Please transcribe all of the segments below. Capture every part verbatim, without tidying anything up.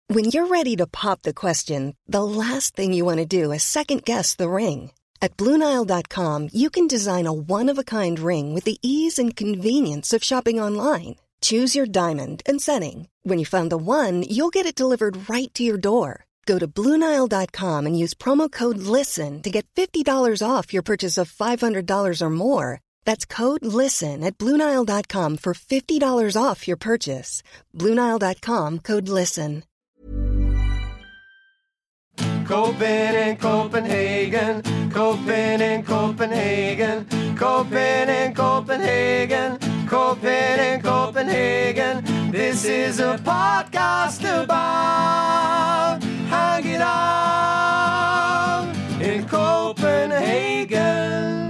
When you're ready to pop the question, the last thing you want to do is second-guess the ring. At Blue Nile dot com, you can design a one-of-a-kind ring with the ease and convenience of shopping online. Choose your diamond and setting. When you find the one, you'll get it delivered right to your door. Go to Blue Nile dot com and use promo code LISTEN to get fifty dollars off your purchase of five hundred dollars or more. That's code LISTEN at Blue Nile dot com for fifty dollars off your purchase. Blue Nile dot com, code LISTEN. Copen in Copenhagen, Copen in Copenhagen, Copen in Copenhagen, Copen in Copenhagen. This is a podcast about hanging out in Copenhagen.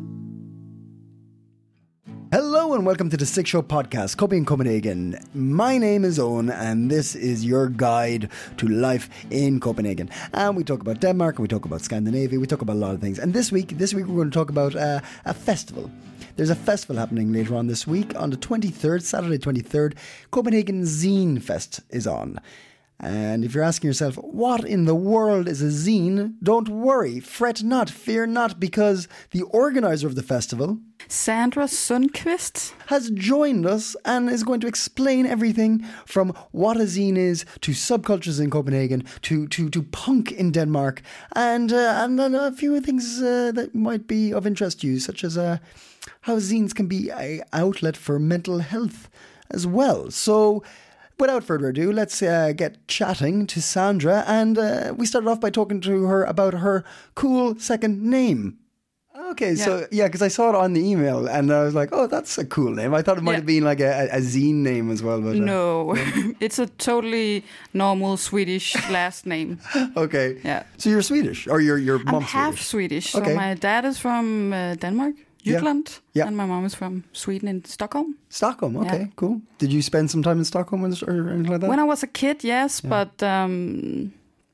Hello and welcome to the Sick Show podcast, Copy in Copenhagen. My name is Owen and this is your guide to life in Copenhagen. And we talk about Denmark and we talk about Scandinavia, we talk about a lot of things. And this week, this week we're going to talk about uh, a festival. There's a festival happening later on this week on the twenty-third, Saturday twenty-third. Copenhagen Zine Fest is on. And if you're asking yourself, what in the world is a zine? Don't worry, fret not, fear not, because the organizer of the festival, Sandra Sundqvist, has joined us and is going to explain everything from what a zine is to subcultures in Copenhagen to to, to punk in Denmark and uh, and then a few things uh, that might be of interest to you, such as uh, how zines can be an outlet for mental health as well. So without further ado, let's uh, get chatting to Sandra. And uh, we started off by talking to her about her cool second name. Okay, yeah. so yeah, because I saw it on the email and I was like, oh, that's a cool name. I thought it might yeah. have been like a, a zine name as well. But, uh, no, it's a totally normal Swedish last name. Okay. Yeah. So you're Swedish or your your mom's I'm half Swedish? Swedish. So okay. my dad is from uh, Denmark. Jutland, yeah. Yeah. and my mom is from Sweden in Stockholm. Stockholm, okay, yeah. Cool. Did you spend some time in Stockholm or anything like that? When I was a kid, yes, yeah. but um,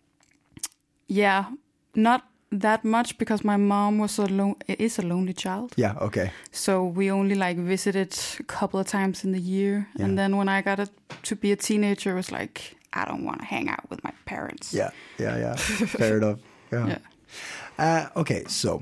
yeah, not that much because my mom was a lo- is a lonely child. Yeah, okay. So we only like visited a couple of times in the year, yeah. and then when I got it to be a teenager, it was like I don't want to hang out with my parents. Yeah, yeah, yeah. Fair enough. Yeah. yeah. Uh, okay, so.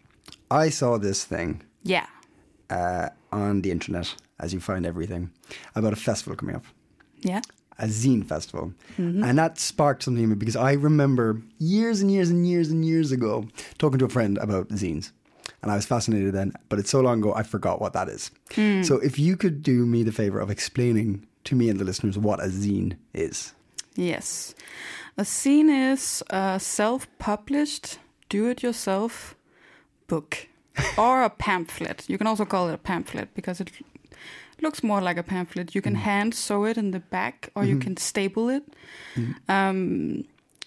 I saw this thing yeah. uh, on the internet, as you find everything, about a festival coming up. Yeah. A zine festival. Mm-hmm. And that sparked something in me because I remember years and years and years and years ago talking to a friend about zines. And I was fascinated then, but it's so long ago I forgot what that is. Mm. So if you could do me the favor of explaining to me and the listeners what a zine is. Yes. A zine is a self-published, do-it-yourself book or a pamphlet. You can also call it a pamphlet because it looks more like a pamphlet. You can mm. hand sew it in the back or mm-hmm. you can staple it. Mm. Um,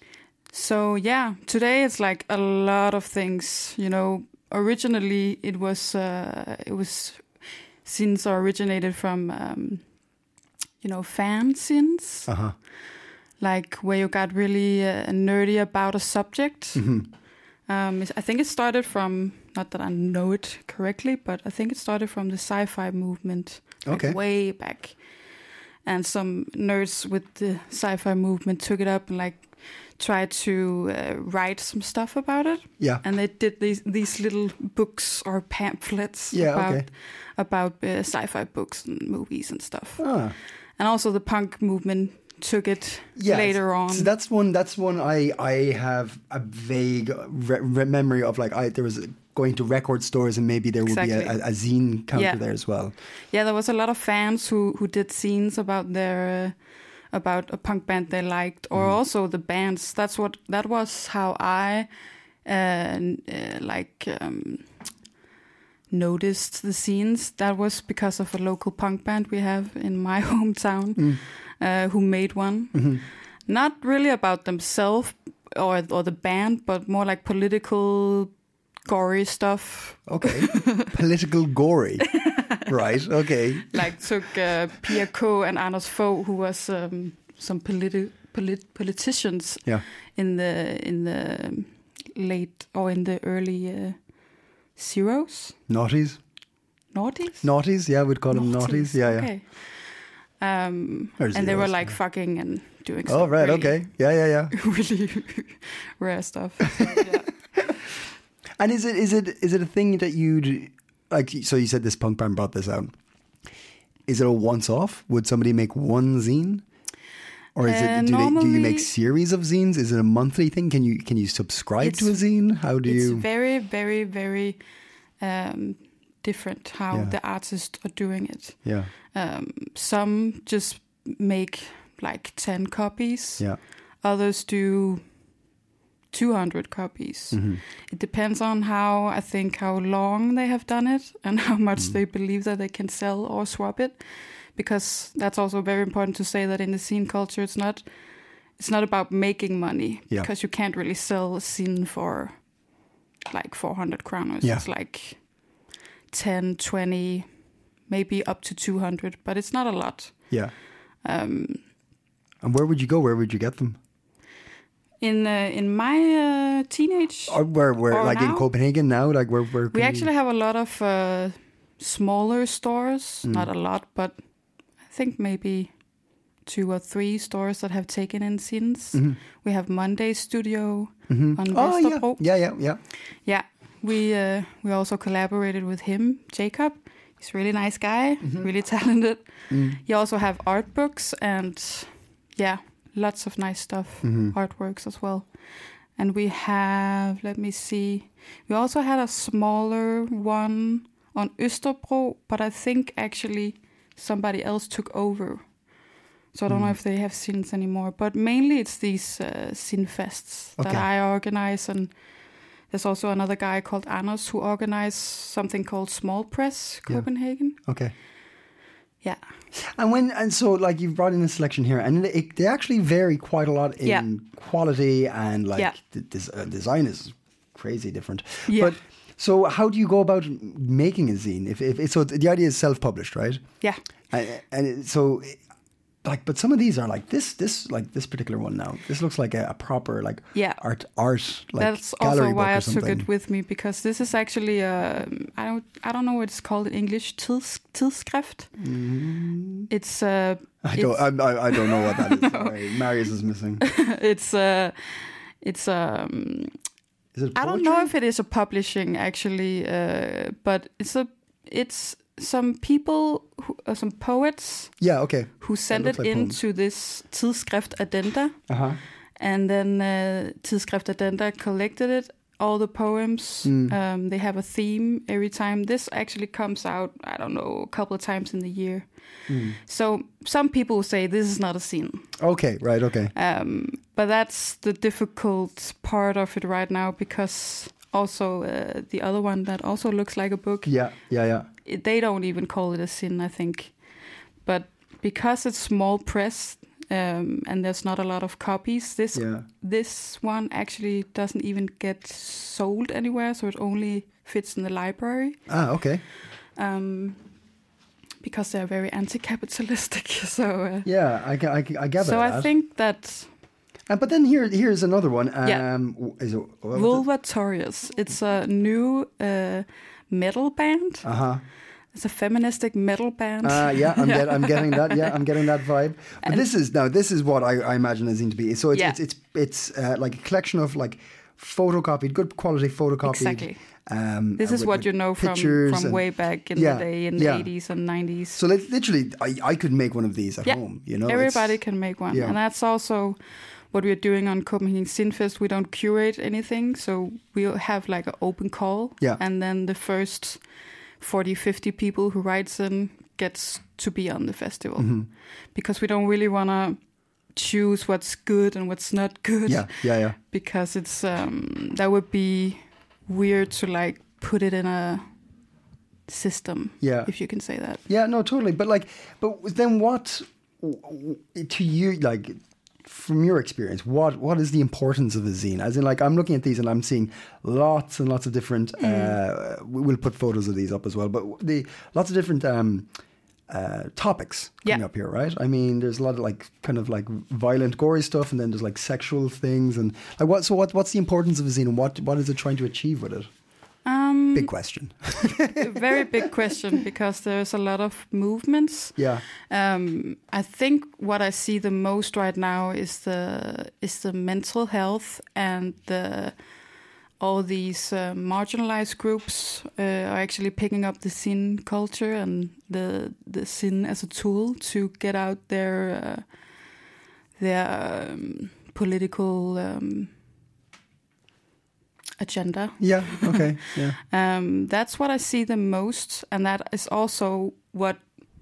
so yeah, today it's like a lot of things. You know, originally it was uh, it was zines originated from um, you know fanzines, uh-huh. like where you got really uh, nerdy about a subject. Mm-hmm. Um, I think it started from, not that I know it correctly, but I think it started from the sci-fi movement, like okay. way back. And some nerds with the sci-fi movement took it up and like tried to uh, write some stuff about it. Yeah. And they did these these little books or pamphlets yeah, about okay. about uh, sci-fi books and movies and stuff. Ah. And also the punk movement took it yeah, later on. So that's one. That's one. I I have a vague re- re- memory of like I there was going to record stores and maybe there exactly. would be a, a, a zine counter yeah. there as well. Yeah, there was a lot of fans who who did zines about their uh, about a punk band they liked, or mm. also the bands. That's what that was how I uh, uh, like um, noticed the zines. That was because of a local punk band we have in my hometown. Mm. Uh, who made one. Mm-hmm. Not really about themselves or or the band, but more like political, gory stuff. Okay. Political gory. Right, okay. Like took uh, Pia K. and Anders Fogh, who was um, some politi- polit- politicians yeah. in the in the late or in the early uh, zeros. Noughties. Noughties? Noughties, yeah, we'd call them noughties. Yeah, okay. yeah. Um, There's and they zeros, were like yeah. fucking and doing Oh some right, really, okay, yeah, yeah, yeah. really rare stuff. But, yeah. And is it is it is it a thing that you'd like? So you said this punk band brought this out. Is it a once-off? Would somebody make one zine, or is Uh, it do, they, do you normally- make series of zines? Is it a monthly thing? Can you can you subscribe It's- to a zine? How do It's you? very, very, very um, different how Yeah. the artists are doing it. Yeah, Um, some just make like ten copies. yeah, Others do two hundred copies. Mm-hmm. It depends on how, I think, how long they have done it and how much Mm-hmm. they believe that they can sell or swap it. Because that's also very important to say that in the scene culture, it's not it's not about making money. Yeah. Because you can't really sell a scene for like four hundred kroners. Yeah. It's like ten, twenty, maybe up to two hundred, but it's not a lot. yeah. Um, And where would you go? Where would you get them? in uh, in my uh, teenage, Or where where Or like in now? Copenhagen now? Like where where? we can you- actually have a lot of uh, smaller stores. Mm. Not a lot, but I think maybe two or three stores that have taken in scenes. Mhm. We have Monday Studio Mhm. on Oh yeah, Vesterbro. yeah, yeah, yeah. Yeah, we uh, we also collaborated with him, Jacob. He's a really nice guy, Mm-hmm. really talented. Mm. You also have art books and yeah, lots of nice stuff, Mm-hmm. artworks as well. And we have, let me see, we also had a smaller one on Østerbro, but I think actually somebody else took over. So I don't know Mm. if they have scenes anymore, but mainly it's these uh, scene fests that Okay. I organize, and there's also another guy called Anders who organizes something called Small Press Yeah. Copenhagen. Okay. Yeah, And when and so like you've brought in a selection here, and it, they actually vary quite a lot in Yeah. quality and like Yeah. the des- uh, design is crazy different. Yeah. But so how do you go about making a zine? If, if so, the idea is self-published, right? yeah. And, and it- so like, but some of these are like this, this like this particular one now. This looks like a, a proper like Yeah. art art like That's gallery also book why or I took something. it with me, because this is actually a, I don't I don't know what it's called in English. Tids, tidsskrift. It's uh, I don't I, I, I don't know what that is. Sorry. Marius is missing. it's uh, it's um, Is it I don't poetry? know if it is a publishing actually, uh, but it's a it's some people who, uh, some poets Yeah, okay. who sent looks it like poems. into this tidsskrift addenda. Uh-huh. And then uh, Tidsskrift Addenda collected it, all the poems. Mm. Um, they have a theme every time. This actually comes out, I don't know, a couple of times in the year. Mm. So some people say this is not a scene. Okay, right, okay. Um, but that's the difficult part of it right now, because also uh, the other one that also looks like a book, Yeah, yeah, yeah. it, they don't even call it a sin, I think. But because it's small press, um, and there's not a lot of copies, this Yeah. this one actually doesn't even get sold anywhere, so it only fits in the library. Ah, okay. Um, because they're very anti-capitalistic, so uh, Yeah, I, ca- I, ca- I gather so I that. think that Uh, but then here, here's another one. Um, Yeah. w- Is it? What Vulvatorius. It's a new uh, metal band. Uh huh. It's a feministic metal band. Uh, yeah, I'm, Get, I'm getting that. Yeah, I'm getting that vibe. But And- this is now. This is what I, I imagine a zine to be. So it's Yeah. it's it's, it's uh, like a collection of like photocopied, good quality photocopied. Exactly. Um, This uh, is with, what like, you know from, pictures from and- way back in Yeah, the day, in the yeah. eighties and nineties. So like, literally, I, I could make one of these at Yeah, home. You know, Everybody It's- can make one. yeah. And that's also what we're doing on Copenhagen Cinefest. We don't curate anything, so we'll have like an open call. Yeah. And then the first forty, fifty people who writes in gets to be on the festival. Mhm. Because we don't really want to choose what's good and what's not good. Yeah, yeah, yeah. Because it's um, that would be weird to like put it in a system, Yeah. if you can say that. Yeah, no, totally. But like, but then what w- w- to you, like, from your experience, what what is the importance of a zine? As in, like, I'm looking at these and I'm seeing lots and lots of different. Uh, we will put photos of these up as well, but the lots of different um, uh, topics coming Yeah. up here, right? I mean, there's a lot of like kind of like violent, gory stuff, and then there's like sexual things, and like what. So what what's the importance of a zine, and what what is it trying to achieve with it? Um, big question. A very big question because there's a lot of movements. Yeah. Um, I think what I see the most right now is the is the mental health and the all these uh, marginalized groups uh, are actually picking up the sin culture and the the sin as a tool to get out their uh, their um, political um, agenda. Yeah. Okay. Yeah. Um, that's what I see the most, and that is also what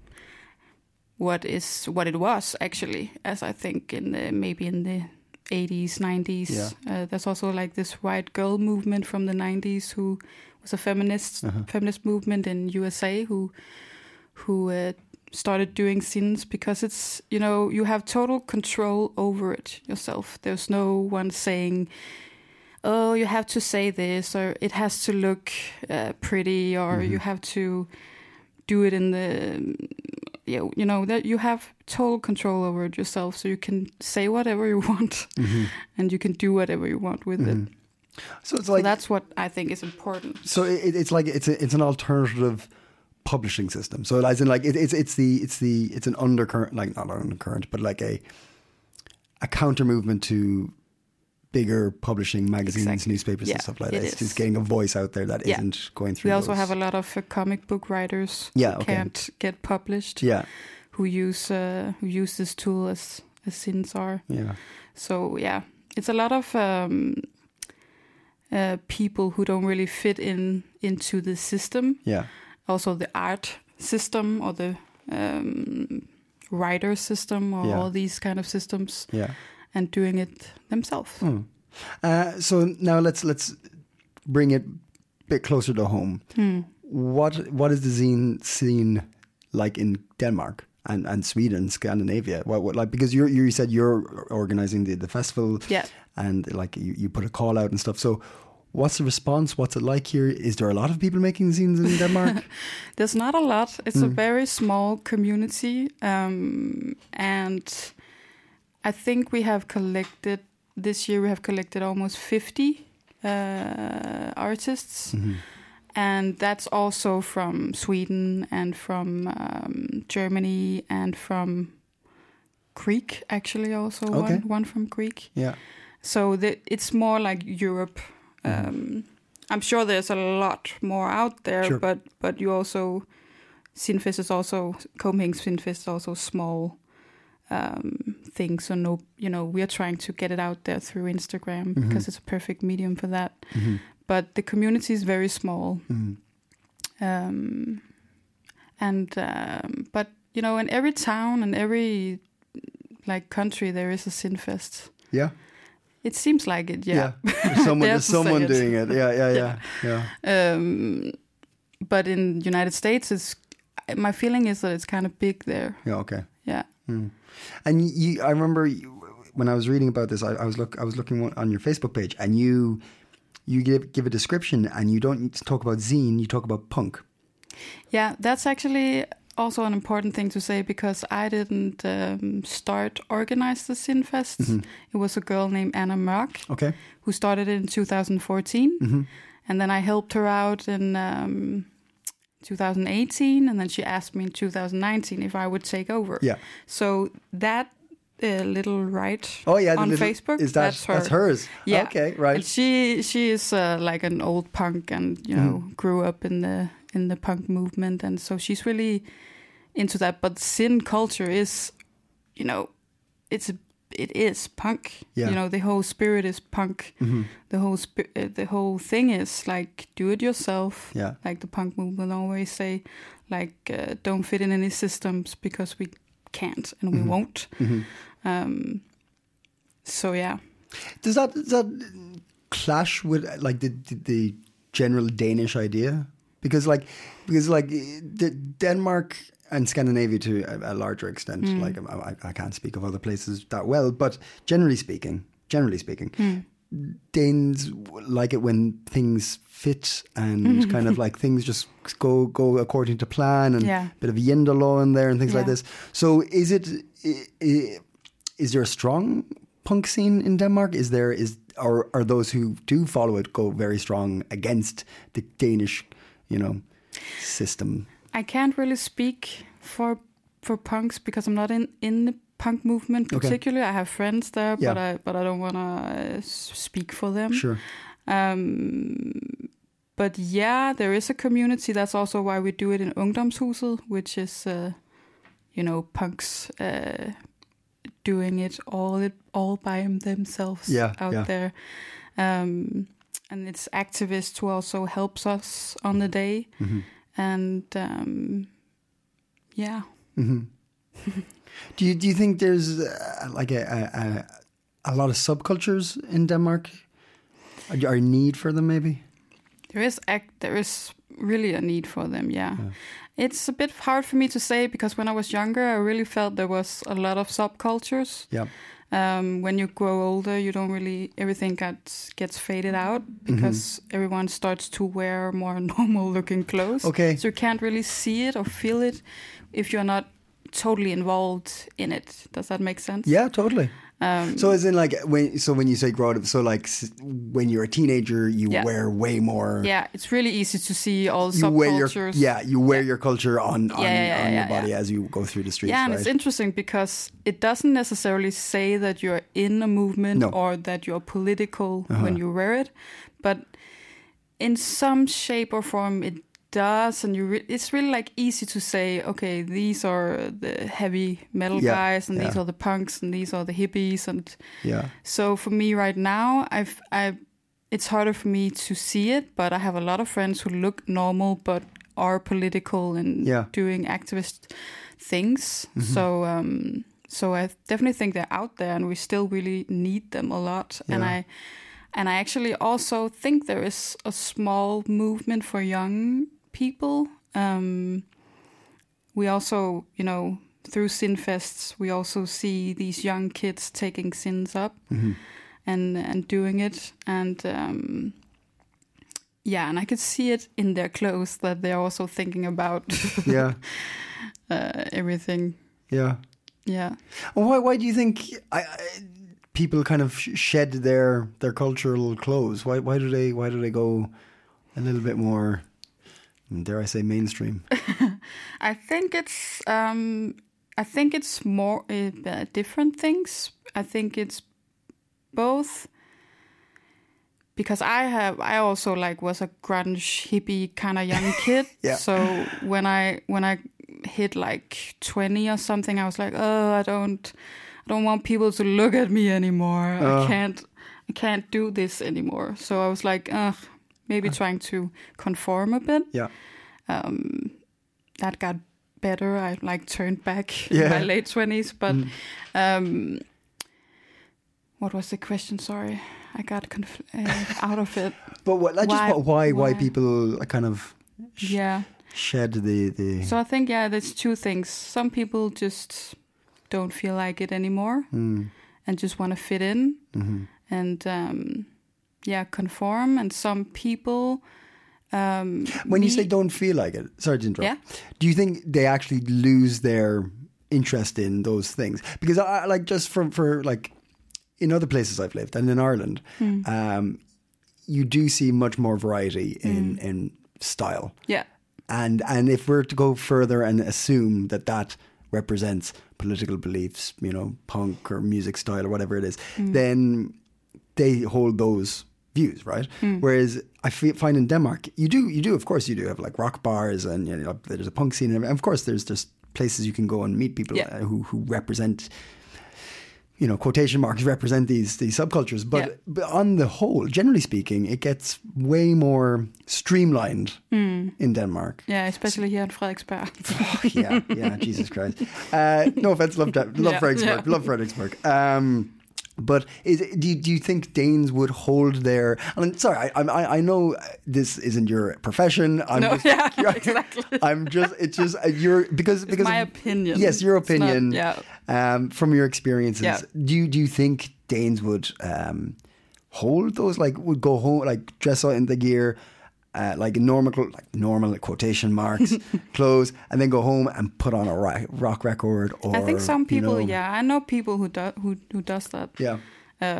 what is what it was actually, as I think in the, maybe in the eighties, nineties. Yeah. Uh, there's also like this white girl movement from the nineties, who was a feminist Uh-huh. feminist movement in U S A, who who uh, started doing sins because it's, you know, you have total control over it yourself. There's no one saying, oh, you have to say this, or it has to look uh, pretty, or Mm-hmm. you have to do it in the, you know, you know, that you have total control over it yourself, so you can say whatever you want, Mm-hmm. and you can do whatever you want with Mhm. it. So it's So like that's what I think is important. so it, it's like it's a, it's an alternative publishing system. So as in like it, it's it's the it's the it's an undercurrent, like not an undercurrent, but like a a counter movement to bigger publishing magazines, Exactly. newspapers, Yeah, and stuff like it that. It's is. just getting a voice out there that Yeah. not going through. We also those- have a lot of uh, comic book writers Yeah, who okay. can't get published, Yeah, who use uh, who use this tool as as sins are. yeah, So yeah, it's a lot of um, uh, people who don't really fit in into the system. yeah. Also, the art system or the um, writer system or Yeah. all these kind of systems, Yeah. and doing it themselves. Hmm. Uh, so now let's let's bring it a bit closer to home. Hmm. What what is the zine scene like in Denmark and, and Sweden, Scandinavia? What, what like because you you said you're organizing the, the festival, Yeah. and like you, you put a call out and stuff. So what's the response? What's it like here? Is there a lot of people making zines in Denmark? There's not a lot. It's Hmm. a very small community, um, and I think we have collected this year. We have collected almost fifty uh, artists, Mhm. and that's also from Sweden and from um, Germany and from Greek. Actually, also Okay. one one from Greek. Yeah. So the, it's more like Europe. Um, I'm sure there's a lot more out there, Sure. but but you also Sinfest is also Copenhagen Sinfest is also small um, thing. So no, you know, we are trying to get it out there through Instagram because it's a perfect medium for that. Mhm. But the community is very small, Mhm. um, and um, but you know, in every town and every like country there is a Sinfest. Yeah. It seems like it, yeah. There's someone, Dare there's to say someone it. doing it. Yeah, yeah, yeah, yeah. Um, but in United States, it's my feeling is that it's kind of big there. Yeah. Okay. Yeah, Mm. And you, I remember you, when I was reading about this, I, I was look, I was looking on your Facebook page, and you, you give give a description, and you don't talk about zine, you talk about punk. yeah. That's actually also an important thing to say because I didn't um, start organize the Sinfest. It was a girl named Anna Mørk Okay. who started it in two thousand fourteen, Mm-hmm. and then I helped her out in um, two thousand eighteen, and then she asked me in two thousand nineteen if I would take over. Yeah. So that uh, little right Oh yeah. the on little- Facebook, Is that that's her. That's hers. Yeah. Okay. And Right. she she is uh, like an old punk, and you know grew up in the in the punk movement, and so she's really into that. But sin culture is, you know, it's a, it is punk. Yeah. You know, the whole spirit is punk. Mhm. The whole spi- uh, the whole thing is like do it yourself. Yeah. Like the punk movement always say, like uh, don't fit in any systems because we can't and we won't. Mhm. Um, so yeah. Does that does that clash with like the the, the general Danish idea? Because like because like the Denmark and Scandinavia to a, a larger extent. Like I, I can't speak of other places that well, but generally speaking, generally speaking, Danes like it when things fit and kind of like things just go go according to plan, and Yeah. a bit of Yenda law in there and things like Yeah. this. So is it? i- i- Is there a strong punk scene in Denmark? Is there is or or those who do follow it go very strong against the Danish, you know, system? I can't really speak for for punks because I'm not in, in the punk movement particularly. Okay. I have friends there, yeah. but I but I don't want to uh, speak for them. Sure. Um, but yeah, there is a community. That's also why we do it in Ungdomshuset, which is, uh, you know, punks uh, doing it all it all by themselves yeah, out yeah. there. Um, and it's activists who also helps us on the day. Mm-hmm. And um, yeah. Mm-hmm. do you do you think there's uh, like a, a a lot of subcultures in Denmark? Are you- are you need for them maybe? There is act. There is really a need for them. Yeah. yeah, it's a bit hard for me to say because when I was younger, I really felt there was a lot of subcultures. Yeah. Um, when you grow older, you don't really everything gets gets faded out because mm-hmm. everyone starts to wear more normal-looking clothes. Okay. So you can't really see it or feel it if you're not totally involved in it. Does that make sense? Yeah, totally. Um, so as in like when so when you say grow up, so like when you're a teenager, you yeah. wear way more. Yeah, it's really easy to see all you wear your, subcultures. yeah, you wear yeah. your culture on on, yeah, yeah, yeah, on yeah, your body yeah. as you go through the streets. Yeah, and right? it's interesting because it doesn't necessarily say that you're in a movement no. or that you're political uh-huh. when you wear it, but in some shape or form it does, and you re- it's really like easy to say, okay, these are the heavy metal yeah, guys, and yeah. these are the punks, and these are the hippies, and yeah. So for me right now, I've I, it's harder for me to see it, but I have a lot of friends who look normal but are political and yeah. doing activist things. Mm-hmm. So um, so I definitely think they're out there, and we still really need them a lot, yeah. and I. And I actually also think there is a small movement for young people. Um, we also, you know, through Sinfests, we also see these young kids taking sins up mm-hmm. and and doing it. And um, yeah, and I could see it in their clothes that they're also thinking about yeah uh, everything. Yeah. Yeah. Well, why? Why do you think I? I people kind of shed their their cultural clothes? Why why do they why do they go a little bit more, dare I say, mainstream? I think it's um, I think it's more uh, different things. I think it's both because I have I also like was a grunge hippie kind of young kid. yeah. So when I when I hit like twenty or something, I was like, oh, I don't. I don't want people to look at me anymore. Uh, I can't, I can't do this anymore. So I was like, ugh, maybe uh, trying to conform a bit. Yeah. Um, that got better. I like turned back yeah. in my late twenties. But mm. um, what was the question? Sorry, I got conf- uh, out of it. But what? Like why, just why, why why why people kind of sh- yeah shed the the. So I think yeah, there's two things. Some people just don't feel like it anymore mm. and just want to fit in mm-hmm. and um, yeah, conform. And some people, um, when me- you say don't feel like it, sorry to interrupt. Yeah? Do you think they actually lose their interest in those things? Because I like just from for like in other places I've lived and in Ireland, mm. um, you do see much more variety in mm. in style. Yeah, and and if we're to go further and assume that that represents political beliefs, you know, punk or music style or whatever it is, mm. then they hold those views, right? Mm. Whereas I f- find in Denmark, you do, you do, of course, you do have like rock bars and you know, there's a punk scene, and of course, there's just places you can go and meet people yeah. uh, who who represent, you know, quotation marks represent these these subcultures. But, yeah. but on the whole, generally speaking, it gets way more streamlined mm. in Denmark. Yeah, especially here in Frederiksberg. oh, yeah, yeah, Jesus Christ. Uh, no offense, love love yeah, Frederiksberg, yeah. love Frederiksberg. Um, but is it, do you, do you think Danes would hold their? I mean, sorry, I, I I know this isn't your profession. I'm no, just, yeah, exactly. I'm just it's just uh, you're because it's because my of, opinion. Yes, your opinion. Not, yeah. Um, from your experiences, yeah. do you do you think Danes would um hold those, like would go home, like dress out in the gear, uh, like normal, like normal like quotation marks clothes, and then go home and put on a rock, rock record? Or I think some people, you know, yeah, I know people who do who who does that. Yeah. Um,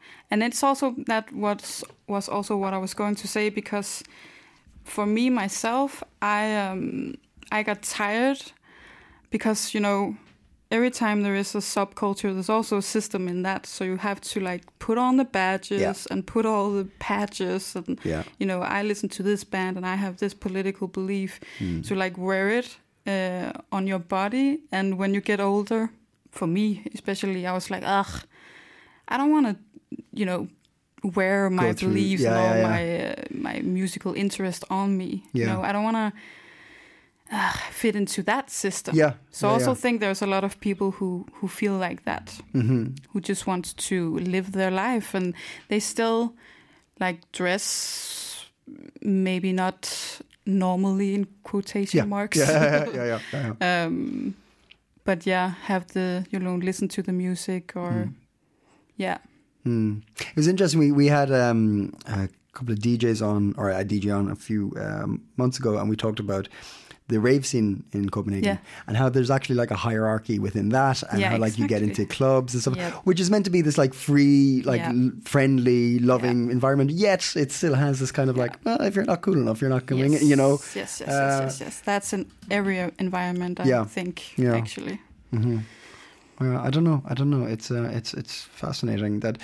And it's also that what was also what I was going to say, because for me myself, I um, I got tired because, you know, every time there is a subculture, there's also a system in that. So you have to like put on the badges yeah. and put all the patches and, yeah. you know, I listen to this band and I have this political belief. Mm. To like wear it uh, on your body. And when you get older, for me especially, I was like, ugh, I don't want to, you know, wear my through, beliefs yeah, and all yeah, my uh, my musical interest on me. Yeah. You know, I don't want to uh, fit into that system. Yeah. So yeah, I also yeah. think there's a lot of people who, who feel like that, mm-hmm. who just want to live their life, and they still like dress maybe not normally in quotation yeah. marks. Yeah, yeah, yeah, yeah, yeah, yeah. um, but yeah, have the, you know, listen to the music or mm. yeah. Mm. It was interesting. We we had um, a couple of D Js on, or a D J on a few um, months ago, and we talked about the rave scene in Copenhagen yeah. and how there's actually like a hierarchy within that, and yeah, how like exactly. you get into clubs and stuff, yep. which is meant to be this like free, like yeah. l- friendly, loving yeah. environment. Yet it still has this kind of yeah. like, well, if you're not cool enough, you're not coming. Yes. You know. Yes, yes, yes, uh, yes, yes. That's in every environment, I yeah. think. Yeah. Actually. Mm-hmm. Well, I don't know. I don't know. It's uh, it's it's fascinating that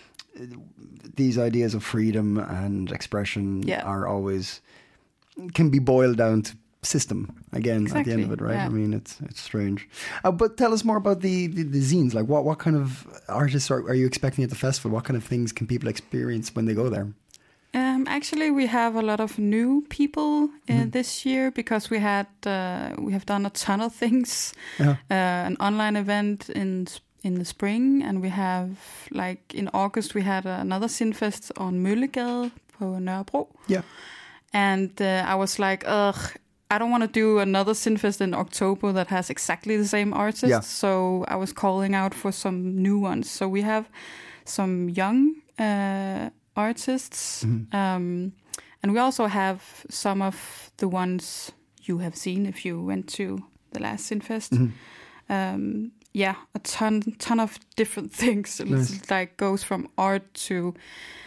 these ideas of freedom and expression yeah. are always can be boiled down to system again exactly. at the end of it, right? Yeah. I mean, it's it's strange. Uh, but tell us more about the, the the zines. Like, what what kind of artists are, are you expecting at the festival? What kind of things can people experience when they go there? Um, actually, we have a lot of new people uh, mm-hmm. this year because we had uh, we have done a ton of things. Uh-huh. Uh, an online event in in the spring, and we have like in August we had another Zinfest on Møllegade på Nørrebro. Yeah, and uh, I was like, ugh, I don't want to do another Zinfest in October that has exactly the same artists. Yeah. So I was calling out for some new ones. So we have some young uh, artists, mm-hmm. um, and we also have some of the ones you have seen if you went to the last Zinfest. Mm-hmm. Um, yeah, a ton, ton of different things. Nice. It's like goes from art to,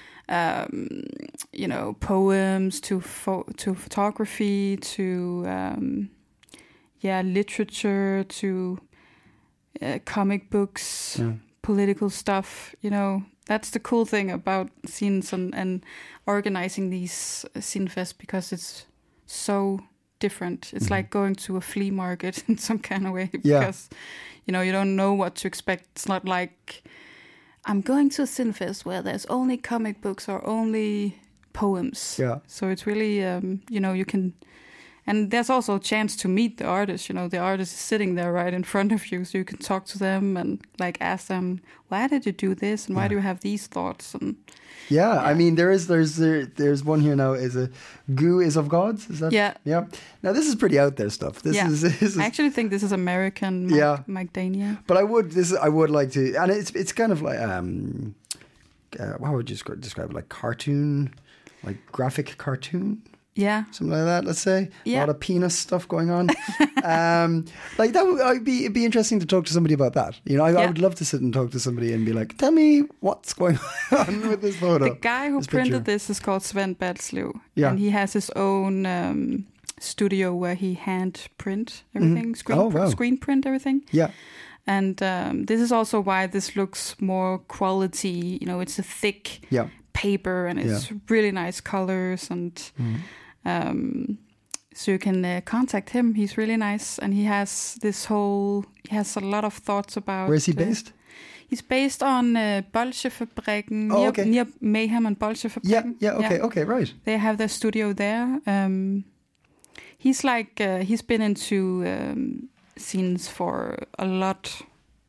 um, you know, poems to pho- to photography to, um, yeah, literature to uh, comic books, yeah. political stuff. You know, that's the cool thing about scenes and, and organizing these Zinfest, because it's so different. It's mm-hmm. like going to a flea market in some kind of way, Yeah. because you know you don't know what to expect. It's not like I'm going to a Zinfest where there's only comic books or only poems. Yeah. So it's really um, you know you can, and there's also a chance to meet the artist. You know, the artist is sitting there right in front of you, so you can talk to them and like ask them, why did you do this and why yeah. do you have these thoughts? And Yeah, Yeah. I mean, there is, there's, there, there's one here now. Is a goo is of gods? Is that? Yeah. Yeah. Now this is pretty out there stuff. This Yeah. is, this is. I actually think this is American Mac- Yeah. Macadamia. But I would, this I would like to, and it's it's kind of like, um, uh, how would you descri- describe it? Like cartoon, like graphic cartoon, Yeah. something like that. Let's say a Yeah. lot of penis stuff going on. um, like that would I'd be it'd be interesting to talk to somebody about that. You know, I, I Yeah. would love to sit and talk to somebody and be like, tell me what's going on with this photo. The guy who this printed picture. this is called Sven Badslev. Yeah. And he has his own um, studio where he hand print everything, screen, Oh, pr- wow. screen print everything. Yeah. And um, this is also why this looks more quality. You know, it's a thick Yeah. paper and it's really nice colors. And Mhm. um, so you can uh, contact him. He's really nice. And he has this whole, he has a lot of thoughts about... Where is he uh, based? He's based on uh, Bolsjefabrikken, Oh, near, okay. near Mayhem and Bolsjefabrikken. Yeah. Yeah. Okay. Okay. Right. They have their studio there. Um, he's like uh, he's been into um, scenes for a lot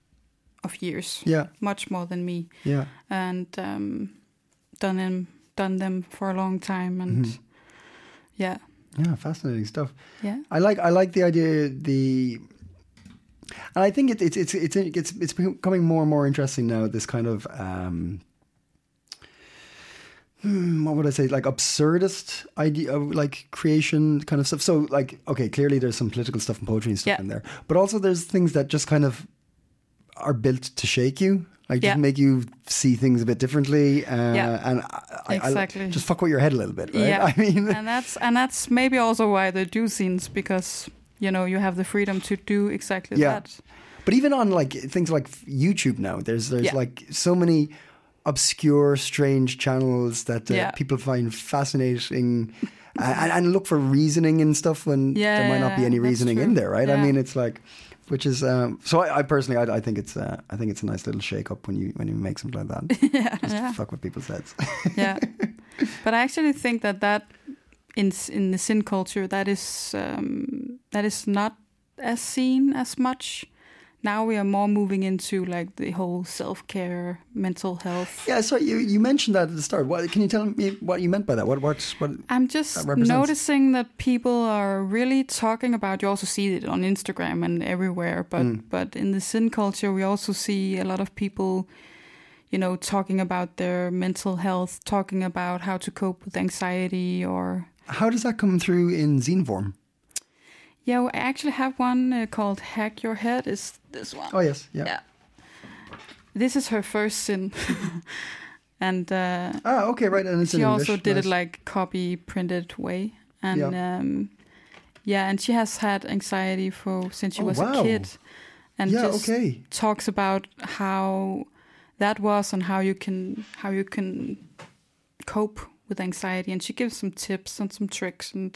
of years, Yeah. much more than me, Yeah. and um, done them done them for a long time, and Mhm. yeah, Yeah. Fascinating stuff. yeah, I like I like the idea the and I think it, it's it's it's it's it's becoming more and more interesting now, this kind of um hmm, what would I say, like absurdist idea of like creation kind of stuff. So like, okay, clearly there's some political stuff and poetry and stuff Yeah. in there, but also there's things that just kind of are built to shake you. Like, Yeah. just make you see things a bit differently, uh, Yeah. and I, I, Exactly. I just fuck with your head a little bit, right? Yeah, I mean, and that's and that's maybe also why they do scenes, because you know you have the freedom to do exactly Yeah. that. but even on like things like YouTube now, there's there's Yeah. like so many obscure, strange channels that uh, Yeah. people find fascinating, and, and look for reasoning and stuff when Yeah, there might not be any that's reasoning true. in there, right? I Yeah. mean, it's like. Which is um, so. I, I personally, I, I think it's, uh, I think it's a nice little shake up when you when you make something like that. yeah, Just yeah. fuck with people's heads. yeah. But I actually think that that in in the sin culture, that is um, that is not as seen as much. Now we are more moving into like the whole self care, mental health. Yeah, so you, you mentioned that at the start. What can you tell me what you meant by that? What what's what? I'm just that represents? noticing that people are really talking about. You also see it on Instagram and everywhere, but Mm. but in the sin culture, we also see a lot of people, you know, talking about their mental health, talking about how to cope with anxiety, or How does that come through in zine form? yeah, I actually have one uh, called "Hack Your Head." Is this one? Oh yes, yeah. Yeah. This is her first sin, and uh, Ah, okay, right. And it's she in also English. did nice. it like copy printed way, and Yeah. um, yeah, and she has had anxiety for since she Oh, was wow. a kid, and Yeah, just okay. talks about how that was and how you can how you can cope with anxiety, and she gives some tips and some tricks, and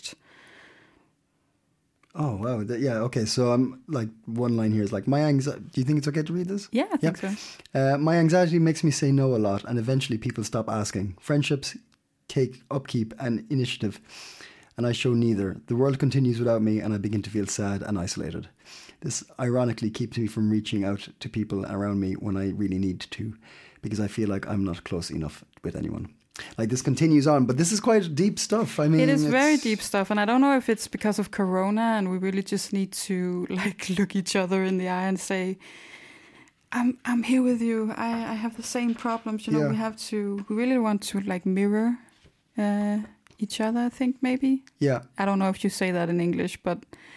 Oh wow, Th- yeah. Okay, so I'm like one line here is like my anxiety. Do you think it's okay to read this? yeah, I think so. Uh, my anxiety makes me say no a lot, and eventually people stop asking. Friendships take upkeep and initiative, and I show neither. The world continues without me, and I begin to feel sad and isolated. This ironically keeps me from reaching out to people around me when I really need to, because I feel like I'm not close enough with anyone. Like this continues on, but this is quite deep stuff. I mean, It is very it's- deep stuff, and I don't know if it's because of Corona, and we really just need to like look each other in the eye and say, "I'm I'm here with you. I, I have the same problems." You know, Yeah. we have to. We really want to like mirror uh, each other. I think maybe. Yeah, I don't know if you say that in English, but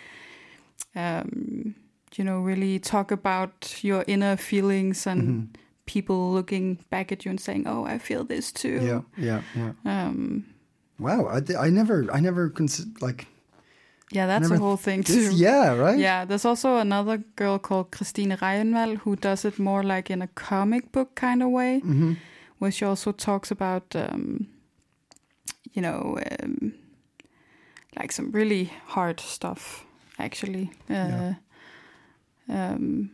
um, you know, really talk about your inner feelings and Mhm. people looking back at you and saying, "Oh, I feel this too." yeah, yeah, yeah. Um, Wow, I, th- I never, I never consider like yeah, that's Never a whole thing this. too. Yeah, right. Yeah, there's also another girl called Christine Reinvald who does it more like in a comic book kind of way, Mm-hmm. where she also talks about, um, you know, um, like some really hard stuff, actually. Uh, Yeah. um,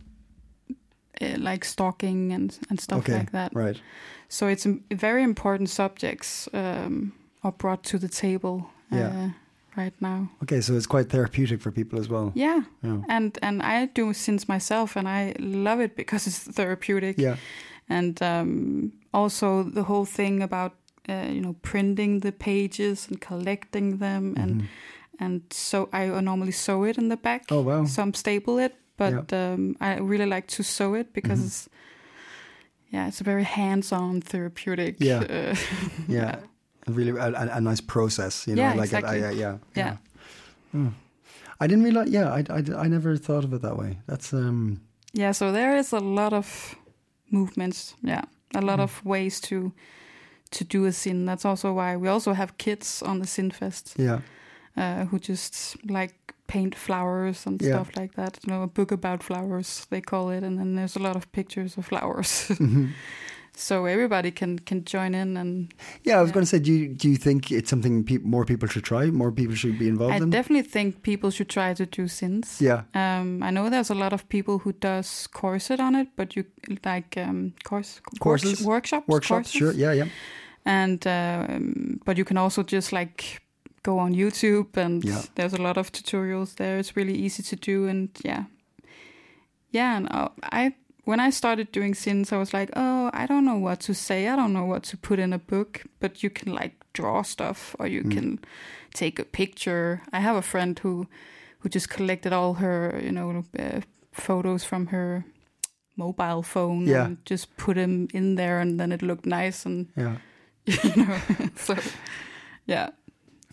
uh, like stalking and, and stuff Okay, like that. right. So it's um, very important subjects um, are brought to the table uh, Yeah. right now. Okay, so it's quite therapeutic for people as well. Yeah. Yeah. And and I do since myself, and I love it because it's therapeutic. Yeah. And um, also the whole thing about uh, you know printing the pages and collecting them, and Mhm. and so I normally sew it in the back. Oh wow. Some staple it, but um, I really like to sew it because Mhm. it's yeah, it's a very hands-on therapeutic. Yeah. Uh, Yeah. A really a, a, a nice process, you know. Yeah, like exactly. I, I, yeah. Yeah. Mm. I didn't realize. Yeah, I, I, I never thought of it that way. That's um. Yeah, so there is a lot of movements. Yeah, a lot of ways to to do a sin. That's also why we also have kids on the Sinfest Yeah. uh, who just like paint flowers and Yeah. stuff like that. You know, a book about flowers they call it, and then there's a lot of pictures of flowers. Mhm. So everybody can can join in, and Yeah, I was Yeah. going to say, do you do you think it's something pe- more people should try? More people should be involved I in? definitely think people should try to do sins. Yeah. Um, I know there's a lot of people who does corset on it, but you like um, course Courses? work- workshops, Workshops, courses. sure. Yeah, yeah. And um, but you can also just like go on YouTube, and Yeah. there's a lot of tutorials there. It's really easy to do, and yeah, yeah. And uh, I when I started doing sins, I was like, oh, I don't know what to say. I don't know what to put in a book, but you can like draw stuff, or you Mm. can take a picture. I have a friend who who just collected all her, you know, uh, photos from her mobile phone Yeah. and just put them in there, and then it looked nice, and Yeah. you know, so yeah,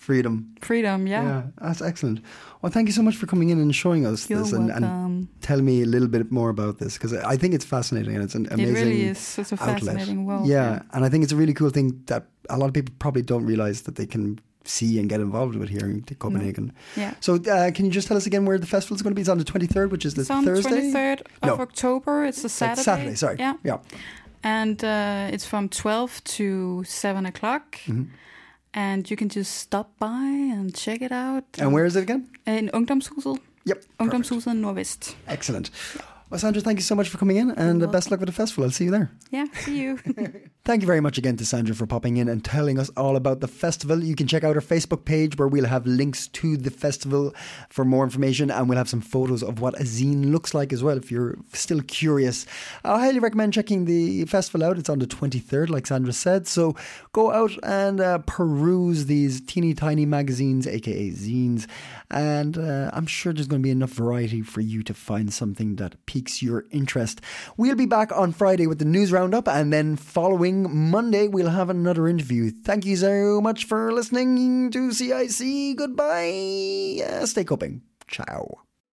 Freedom. Freedom, yeah. Yeah, that's excellent. Well, thank you so much for coming in and showing us You're this and, and welcome. tell me a little bit more about this, because I think it's fascinating and it's an amazing It really is such a outlet. fascinating world. Yeah, yeah. and I think it's a really cool thing that a lot of people probably don't realize that they can see and get involved with here in Copenhagen. No. Yeah. So uh, can you just tell us again where the festival is going to be? It's on the twenty-third, which is the It's on Thursday? the twenty-third of No. October. It's a Saturday. It's Saturday, sorry. Yeah. Yeah. And uh, it's from twelve to seven o'clock. Mm-hmm. And you can just stop by and check it out. And where is it again? In Ungdomshuset. Yep. Ungdomshuset Nordvest. Excellent. Well, Sandra, thank you so much for coming in, and uh, best luck with the festival. I'll see you there. Yeah, see you. Thank you very much again to Sandra for popping in and telling us all about the festival. You can check out our Facebook page where we'll have links to the festival for more information, and we'll have some photos of what a zine looks like as well if you're still curious. I highly recommend checking the festival out. It's on the twenty-third, like Sandra said. So go out and uh, peruse these teeny tiny magazines, aka zines, and uh, I'm sure there's going to be enough variety for you to find something that piques your interest. We'll be back on Friday with the news roundup, and then following Monday we'll have another interview. Thank you so much for listening to C I C. Goodbye. Uh, stay coping. Ciao.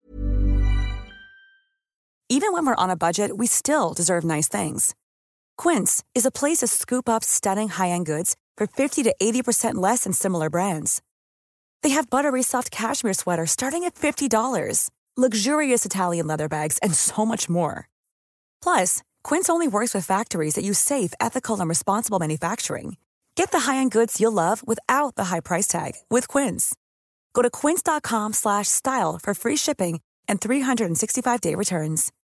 Even when we're on a budget, we still deserve nice things. Quince is a place to scoop up stunning high-end goods for fifty to eighty percent less than similar brands. They have buttery soft cashmere sweaters starting at fifty dollars, luxurious Italian leather bags, and so much more. Plus, Quince only works with factories that use safe, ethical, and responsible manufacturing. Get the high-end goods you'll love without the high price tag with Quince. Go to quince.com slash style for free shipping and three sixty-five day returns.